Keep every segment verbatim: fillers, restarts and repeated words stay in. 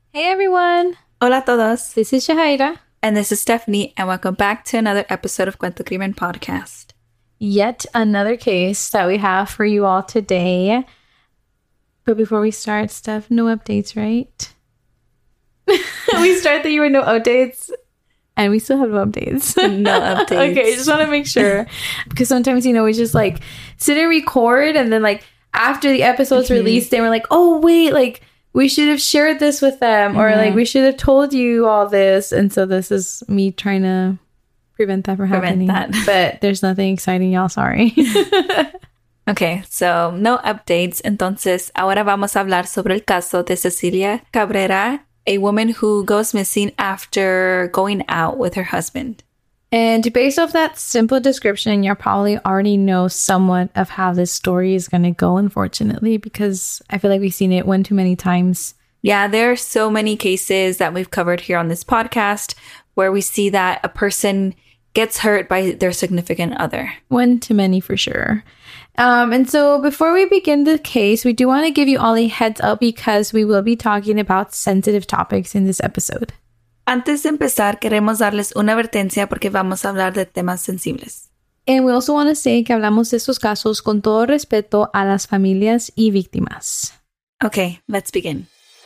Hey everyone! Hola todos! This is Shahaira. And this is Stephanie, and welcome back to another episode of Cuento Crimen Podcast. Yet another case that we have for you all today. But before we start, Steph, no updates, right? We start that you were no updates, and we still have no updates. No updates. Okay, just want to make sure. Because sometimes, you know, we just like sit and record, and then like after the episode's mm-hmm. released, they were like, oh, wait, like we should have shared this with them, or mm-hmm. like we should have told you all this. And so this is me trying to prevent that from prevent happening. That. But there's nothing exciting, y'all. Sorry. Okay, so no updates. Entonces, ahora vamos a hablar sobre el caso de Cecilia Cabrera, a woman who goes missing after going out with her husband. And based off that simple description, you probably already know somewhat of how this story is going to go, unfortunately, because I feel like we've seen it one too many times. Yeah, there are so many cases that we've covered here on this podcast where we see that a person gets hurt by their significant other. One too many for sure. Um, and so before we begin the case, we do want to give you all a heads up because we will be talking about sensitive topics in this episode. Antes de empezar, queremos darles una advertencia porque vamos a hablar de temas sensibles. And we also want to say que hablamos de estos casos con todo respeto a las familias y víctimas. Okay, let's begin.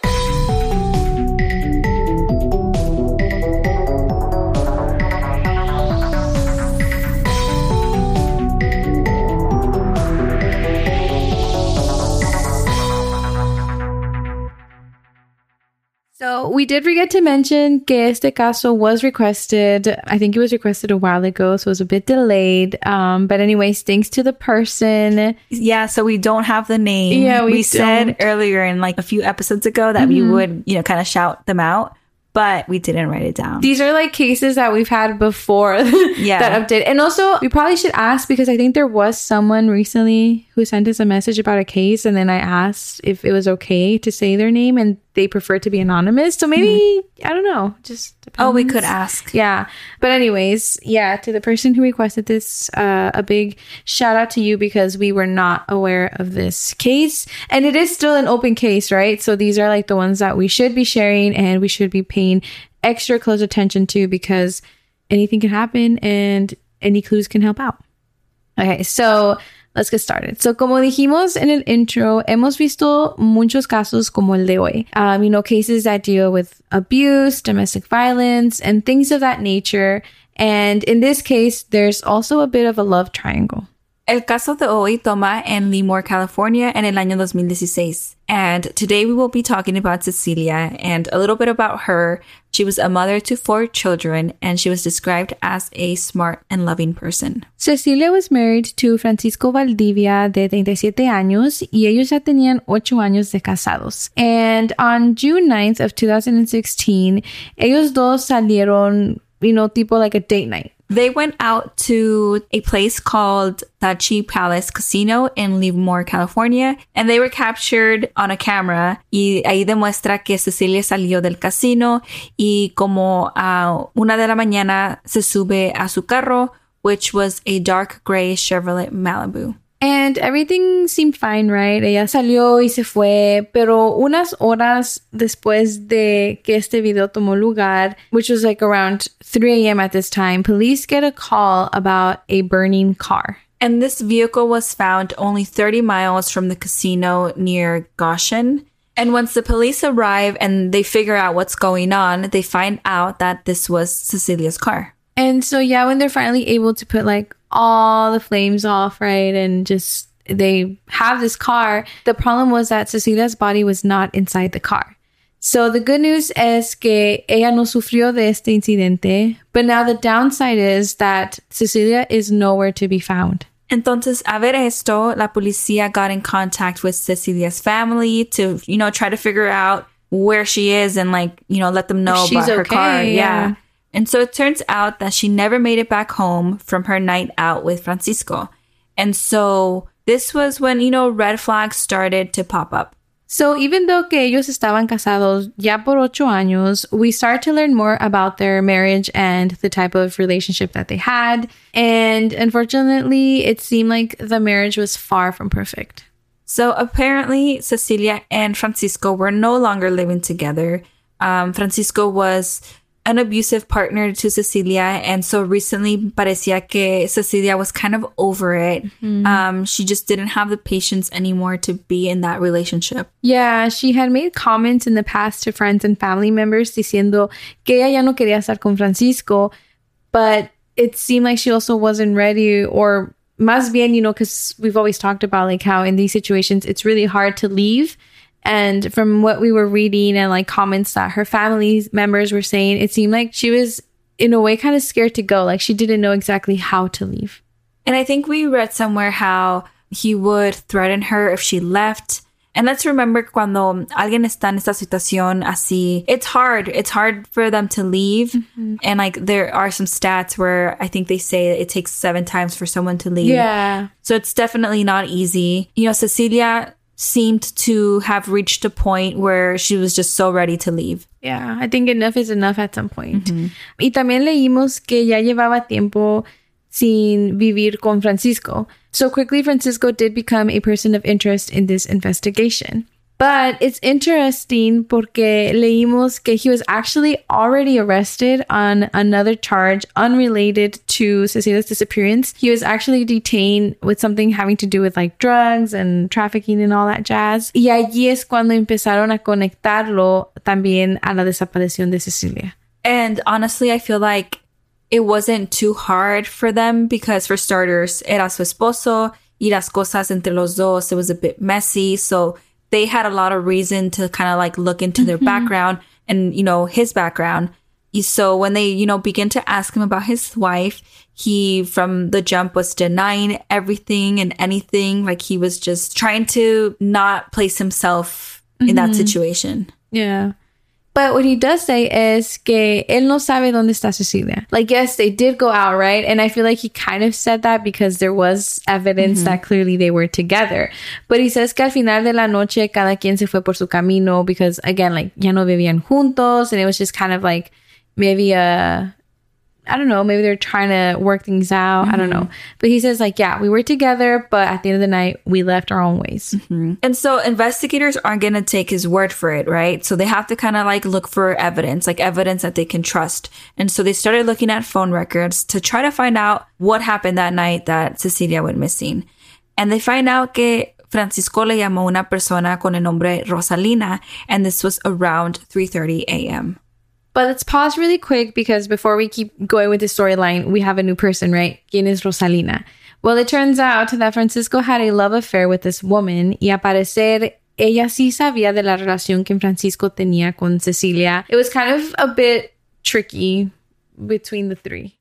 So we did forget to mention que este caso was requested. I think it was requested a while ago, so it was a bit delayed. Um, but anyways, thanks to the person. Yeah, so we don't have the name. Yeah, we, we don't. said earlier in like a few episodes ago that mm-hmm. we would, you know, kind of shout them out. But we didn't write it down. These are like cases that we've had before yeah. that update. And also, we probably should ask because I think there was someone recently who sent us a message about a case. And then I asked if it was okay to say their name and they prefer to be anonymous. So maybe, mm-hmm. I don't know, just depends. Oh, we could ask. Yeah. But anyways, yeah, to the person who requested this, uh, a big shout out to you because we were not aware of this case. And it is still an open case, right? So these are like the ones that we should be sharing and we should be paying extra close attention to because anything can happen and any clues can help out. Okay, so let's get started. So, como dijimos en el intro, hemos visto muchos casos como el de hoy. Um, you know, cases that deal with abuse, domestic violence, and things of that nature. And in this case, there's also a bit of a love triangle. El caso de hoy toma en Lemoore, California, en el año dos mil dieciséis. And today we will be talking about Cecilia and a little bit about her. She was a mother to four children, and she was described as a smart and loving person. Cecilia was married to Francisco Valdivia, de treinta y siete años, y ellos ya tenían ocho años de casados. And on June ninth of two thousand sixteen, ellos dos salieron, you know, tipo like a date night. They went out to a place called Tachi Palace Casino in Lemoore, California, and they were captured on a camera. Y ahí demuestra que Cecilia salió del casino y como a una de la mañana se sube a su carro, which was a dark gray Chevrolet Malibu. And everything seemed fine, right? Ella salió y se fue, pero unas horas después de que este video tomó lugar, which was like around three a.m. at this time, police get a call about a burning car. And this vehicle was found only thirty miles from the casino near Goshen. And once the police arrive and they figure out what's going on, they find out that this was Cecilia's car. And so, yeah, when they're finally able to put like all the flames off, right, and just they have this car, the problem was that Cecilia's body was not inside the car. So the good news es que ella no sufrió de este incidente, but now the downside is that Cecilia is nowhere to be found. Entonces, a ver esto, la policía got in contact with Cecilia's family to, you know, try to figure out where she is and, like, you know, let them know She's about her okay, car. Yeah. yeah. And so it turns out that she never made it back home from her night out with Francisco. And so this was when, you know, red flags started to pop up. So even though que ellos estaban casados ya por ocho años, we start to learn more about their marriage and the type of relationship that they had. And unfortunately, it seemed like the marriage was far from perfect. So apparently, Cecilia and Francisco were no longer living together, um, Francisco was an abusive partner to Cecilia. And so recently parecía que Cecilia was kind of over it. Mm-hmm. Um, she just didn't have the patience anymore to be in that relationship. Yeah, she had made comments in the past to friends and family members diciendo que ella ya no quería estar con Francisco, but it seemed like she also wasn't ready, or más bien, you know, because we've always talked about like how in these situations, it's really hard to leave. And from what we were reading and like comments that her family members were saying, it seemed like she was in a way kind of scared to go. Like she didn't know exactly how to leave. And I think we read somewhere how he would threaten her if she left. And let's remember cuando alguien está en esta situación así, it's hard. It's hard for them to leave. Mm-hmm. And like there are some stats where I think they say it takes seven times for someone to leave. Yeah. So it's definitely not easy. You know, Cecilia seemed to have reached a point where she was just so ready to leave. Yeah, I think enough is enough at some point. Mm-hmm. Y también leímos que ya llevaba tiempo sin vivir con Francisco. So quickly, Francisco did become a person of interest in this investigation. But it's interesting porque leímos que he was actually already arrested on another charge unrelated to Cecilia's disappearance. He was actually detained with something having to do with like drugs and trafficking and all that jazz. Y allí es cuando empezaron a conectarlo también a la desaparición de Cecilia. And honestly, I feel like it wasn't too hard for them because, for starters, era su esposo y las cosas entre los dos, it was a bit messy. So they had a lot of reason to kind of like look into their mm-hmm. background and, you know, his background. So when they, you know, begin to ask him about his wife, he from the jump was denying everything and anything. Like he was just trying to not place himself mm-hmm. in that situation. Yeah. But what he does say is que él no sabe dónde está Cecilia. Like, yes, they did go out, right? And I feel like he kind of said that because there was evidence mm-hmm. that clearly they were together. But he says que al final de la noche, cada quien se fue por su camino because, again, like, ya no vivían juntos. And it was just kind of like maybe a... I don't know, maybe they're trying to work things out. Mm-hmm. I don't know. But he says, like, yeah, we were together, but at the end of the night, we left our own ways. Mm-hmm. And so investigators aren't going to take his word for it, right? So they have to kind of like look for evidence, like evidence that they can trust. And so they started looking at phone records to try to find out what happened that night that Cecilia went missing. And they find out que Francisco le llamó una persona con el nombre Rosalina, and this was around three thirty a.m. But let's pause really quick because before we keep going with the storyline, we have a new person, right? ¿Quién es Rosalina? Well, it turns out that Francisco had a love affair with this woman y a parecer ella sí sabía de la relación que Francisco tenía con Cecilia. It was kind of a bit tricky between the three.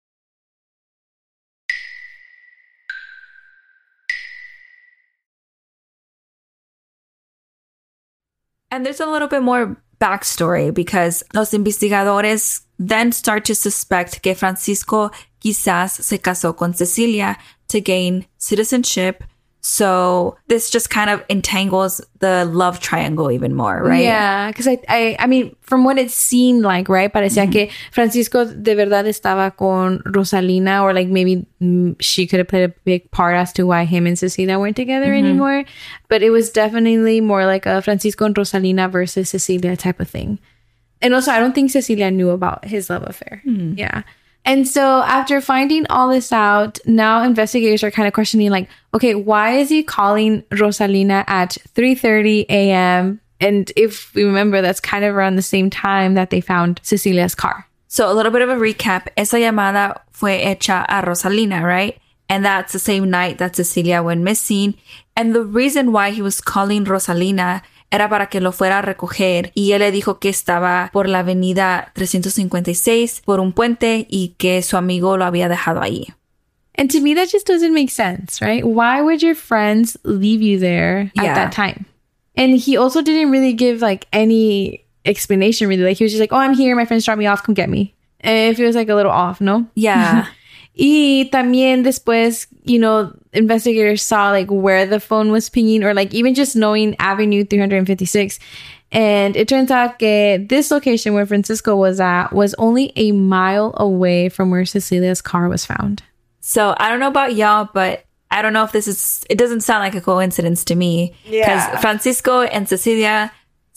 And there's a little bit more backstory because los investigadores then start to suspect que Francisco quizás se casó con Cecilia to gain citizenship. So this just kind of entangles the love triangle even more, right? Yeah, because I, I, I mean, from what it seemed like, right? Parecía mm-hmm. que Francisco de verdad estaba con Rosalina, or like maybe mm, she could have played a big part as to why him and Cecilia weren't together mm-hmm. anymore. But it was definitely more like a Francisco and Rosalina versus Cecilia type of thing. And also, I don't think Cecilia knew about his love affair. Mm-hmm. Yeah. And so after finding all this out, now investigators are kind of questioning, like, okay, why is he calling Rosalina at three thirty a.m.? And if we remember, that's kind of around the same time that they found Cecilia's car. So a little bit of a recap. Esa llamada fue hecha a Rosalina, right? And that's the same night that Cecilia went missing. And the reason why he was calling Rosalina era para que lo fuera a recoger, y él le dijo que estaba por la avenida trescientos cincuenta y seis por un puente y que su amigo lo había dejado ahí. And to me, that just doesn't make sense, right? Why would your friends leave you there at yeah. that time? And he also didn't really give like any explanation, really. Like he was just like, oh, I'm here. My friends dropped me off. Come get me. And it feels like a little off, no? Yeah. Y también después, you know, investigators saw like where the phone was pinging, or like even just knowing Avenue three fifty-six. And it turns out that this location where Francisco was at was only a mile away from where Cecilia's car was found. So I don't know about y'all, but I don't know if this is, it doesn't sound like a coincidence to me. Because yeah. Francisco and Cecilia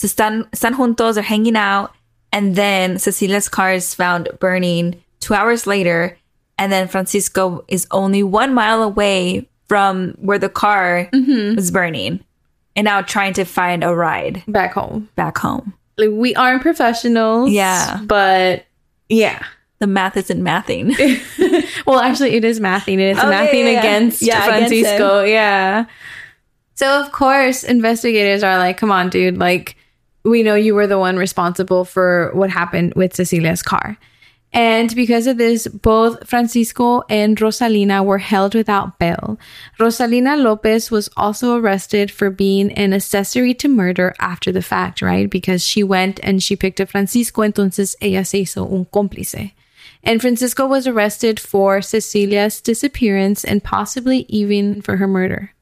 So están, están juntos, they're hanging out. And then Cecilia's car is found burning two hours later. And then Francisco is only one mile away from where the car mm-hmm. was burning. And now trying to find a ride. Back home. Back home. Like, we aren't professionals. Yeah. But, yeah. The math isn't mathing. Well, actually, it is mathing. It's oh, mathing yeah, yeah, against yeah, Francisco. Against yeah. So, of course, investigators are like, come on, dude. Like, we know you were the one responsible for what happened with Cecilia's car. And because of this, both Francisco and Rosalina were held without bail. Rosalina Lopez was also arrested for being an accessory to murder after the fact, right? Because she went and she picked up Francisco, entonces ella se hizo un cómplice. And Francisco was arrested for Cecilia's disappearance and possibly even for her murder.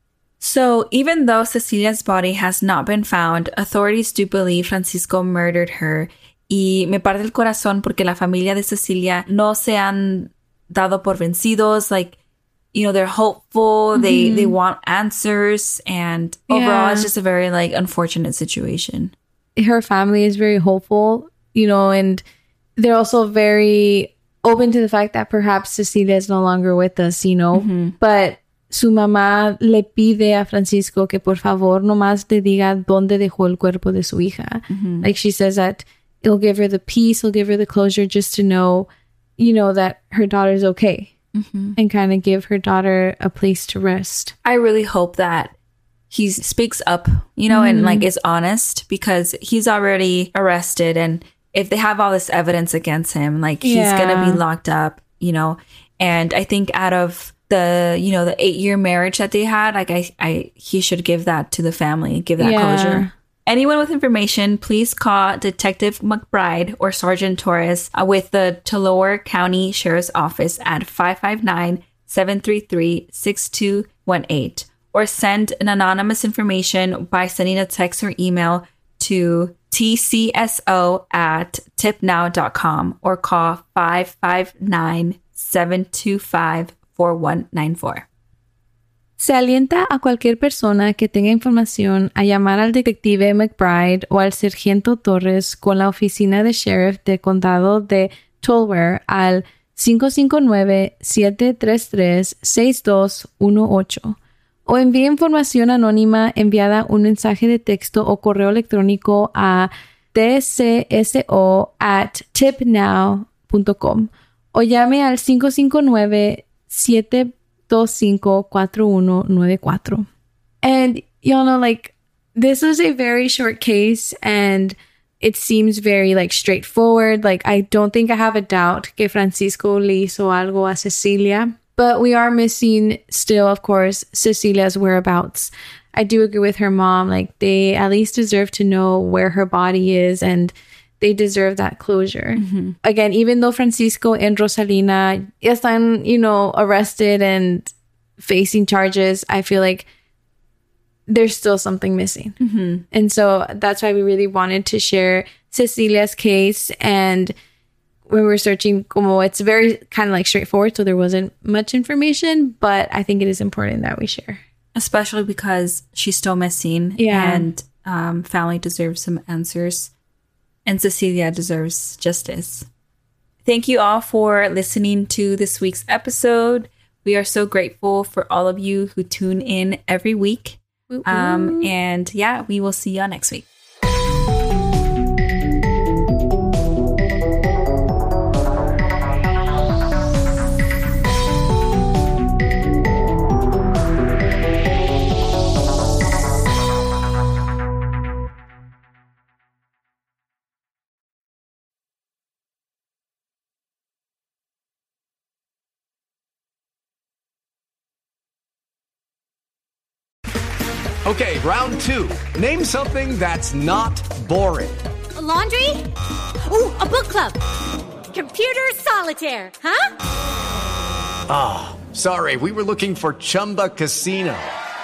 So even though Cecilia's body has not been found, authorities do believe Francisco murdered her. Y me parte el corazón porque la familia de Cecilia no se han dado por vencidos. Like, you know, they're hopeful. Mm-hmm. They they want answers. And yeah. overall, it's just a very, like, unfortunate situation. Her family is very hopeful, you know, and they're also very open to the fact that perhaps Cecilia is no longer with us, you know. Mm-hmm. But su mamá le pide a Francisco que por favor nomás le diga dónde dejó el cuerpo de su hija. Mm-hmm. Like, she says that it'll give her the peace, it'll give her the closure just to know, you know, that her daughter's okay. Mm-hmm. And kind of give her daughter a place to rest. I really hope that he speaks up, you know, mm-hmm. and like is honest, because he's already arrested. And if they have all this evidence against him, like yeah. he's going to be locked up, you know. And I think out of the, you know, the eight year marriage that they had, like I, I, he should give that to the family, give that yeah. closure. Anyone with information, please call Detective McBride or Sergeant Torres uh, with the Tulare County Sheriff's Office at five five nine, seven three three, six two one eight, or send an anonymous information by sending a text or email to T C S O at tip now dot com or call five five nine, seven two five, four one nine four. Se alienta a cualquier persona que tenga información a llamar al detective McBride o al sargento Torres con la oficina de sheriff del condado de Tulare al cinco cinco nueve, siete tres tres, seis dos uno ocho o envíe información anónima enviada un mensaje de texto o correo electrónico a t c s o at tip now dot com o llame al cinco cinco nueve, siete dos cinco, cuatro uno nueve cuatro. And y'all know, like, this was a very short case and it seems very, like, straightforward. Like, I don't think I have a doubt que Francisco le hizo algo a Cecilia, but we are missing still, of course, Cecilia's whereabouts. I do agree with her mom. Like, they at least deserve to know where her body is, and they deserve that closure. Mm-hmm. Again, even though Francisco and Rosalina están, you know, arrested and facing charges, I feel like there's still something missing. Mm-hmm. And so that's why we really wanted to share Cecilia's case. And when we were searching, como it's very kind of like straightforward, so there wasn't much information, but I think it is important that we share. Especially because she's still missing. Yeah. And um, family deserves some answers. And Cecilia deserves justice. Thank you all for listening to this week's episode. We are so grateful for all of you who tune in every week. Um, and yeah, we will see y'all next week. Okay, round two. Name something that's not boring. A laundry? Ooh, a book club. Computer solitaire, huh? Ah, oh, sorry. We were looking for Chumba Casino.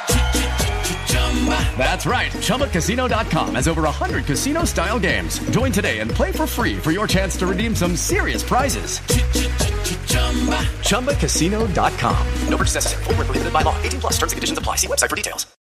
That's right. Chumba Casino dot com has over one hundred casino-style games. Join today and play for free for your chance to redeem some serious prizes. Chumba Casino dot com. No purchase necessary. Void where prohibited by law. eighteen plus terms and conditions apply. See website for details.